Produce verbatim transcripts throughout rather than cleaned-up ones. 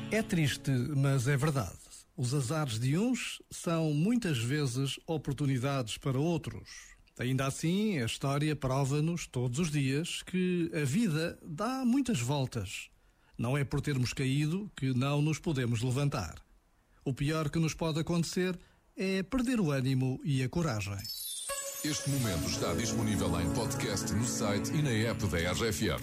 É triste, mas é verdade. Os azares de uns são muitas vezes oportunidades para outros. Ainda assim, a história prova-nos todos os dias que a vida dá muitas voltas. Não é por termos caído que não nos podemos levantar. O pior que nos pode acontecer é perder o ânimo e a coragem. Este momento está disponível em podcast no site e na app da R F M.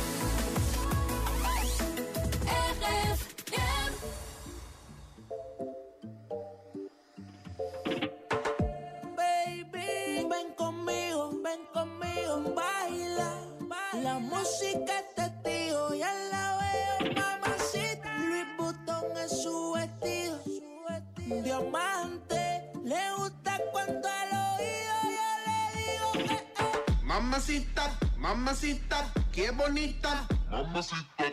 La música es testigo, ya la veo, mamacita. Louis Vuitton es su vestido, diamante. Le gusta cuando al oído yo le digo, eh, eh. Mamacita, mamacita, qué bonita. Mamacita.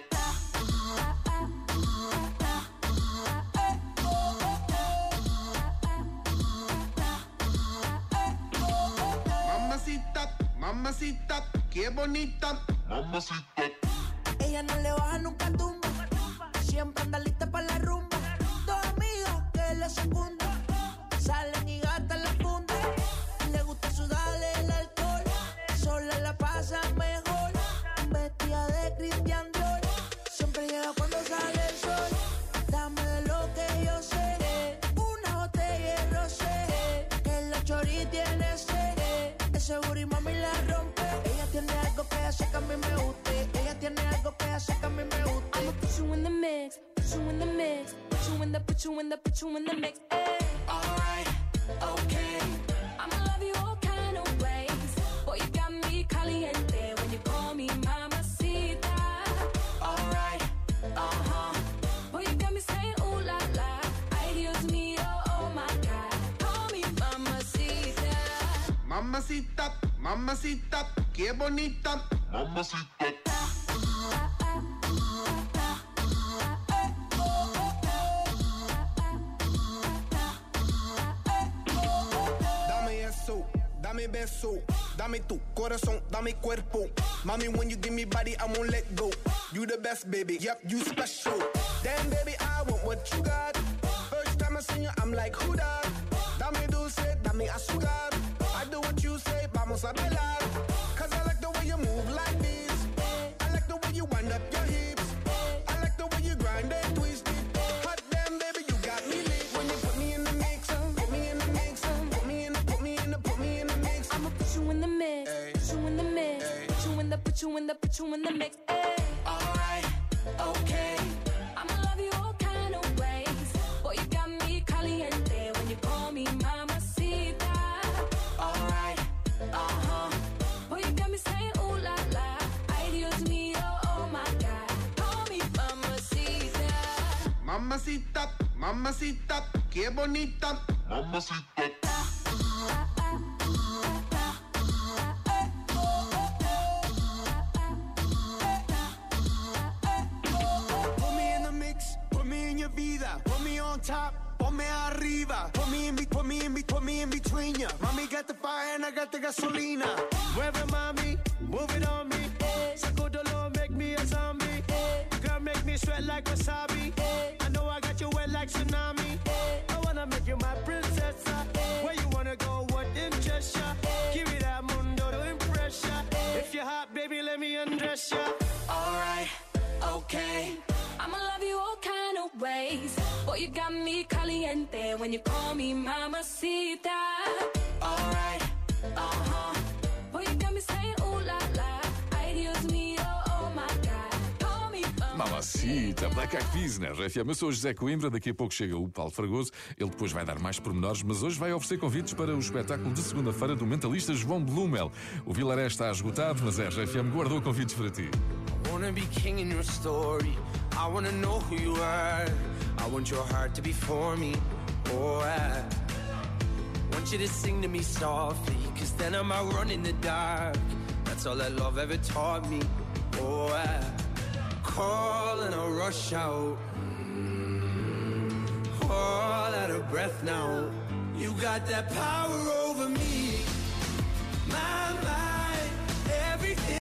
Mamacita, mamacita, qué bonita. Mamacita. Ella no le baja nunca tumba, siempre anda lista para la rumba. Dos amigas que la secundan, salen y gastan la funda. Le gusta sudarle el alcohol, sola la pasa mejor. Vestida de Christian Dior, siempre llega cuando sale el sol. Dame de lo que yo sé, una botella de rosé, que la chori tiene sed. Ese booty mami la rompe. Ella tiene algo que hace que a mí me guste. Ella tiene algo que hace que a mí me guste. I'ma put you in the mix, put you in the mix, put you in the, put you in the, put you in the mix. Ay. Alright, okay. I'ma love you all kind of ways. Boy, you got me caliente when you call me mamacita. Alright, uh-huh. Boy, you got me saying ooh la la. Ay, Dios mío, oh my God. Call me mamacita. Mamacita, mamacita, qué bonita. Mamacita. Dame eso, dame beso, dame tu corazón, dame cuerpo. Mami, when you give me body, I won't let go. You the best, baby, yep, you special. Damn, baby, I want what you got. First time I seen you, I'm like, who that? Dame dulce, dame azúcar. I do what you say, vamos a bailar. Cause I like the way you move like this. I like the way you wind up your hips. I like the way you grind and twist it. Hot damn, baby, you got me lit. When you put me in the mix, put me in the mix, put me in the, put me in the, put me in the mix. I'ma put you in the mix, Ay. put you in the mix, Ay. put you in the, put you in the, put you in the mix. Ay. Alright, okay. I'ma love you all kind of ways. Boy, you got me caliente when you call me mamacita. Alright, uh-huh. Boy, you got me saying ooh la la. Ay, Dios mío, oh my God. Call me mamacita. Mamacita, mamacita, qué bonita. Mamacita. Put me in the mix, put me in your vida. Put me on top, ponme arriba. Put me in, be- put me in, be- put me in between ya. Mami got the fire and I got the gasolina. Mueve mami, move it on me. Saco dolor, make me a zombie. Girl, make me sweat like wasabi. I know I got you wet like tsunami. I wanna make you my princess. Where you wanna go, what interests ya? Give me that mundo to impress ya. If you're hot, baby, let me undress ya. Alright, okay. I'ma love you all kind of ways. Boy, you got me caliente when you call me mamacita. Alright, uh-huh. Boy, you got me saying ooh la la. Ay, Dios mío, oh my God. Call me Mamacita, Black Eyed Peas na R F M. Eu sou o José Coimbra, daqui a pouco chega o Paulo Fragoso. Ele depois vai dar mais pormenores, mas hoje vai oferecer convites para o espetáculo de segunda-feira do mentalista João Blumel. O Vilaré está esgotado, mas a R F M guardou convites para ti. I wanna be king in your story. I wanna know who you are. I want your heart to be for me. Oh, I want you to sing to me softly, cause then I'm out running the dark. That's all that love ever taught me. Oh, I call and I rush out, all out of breath now. You got that power over me.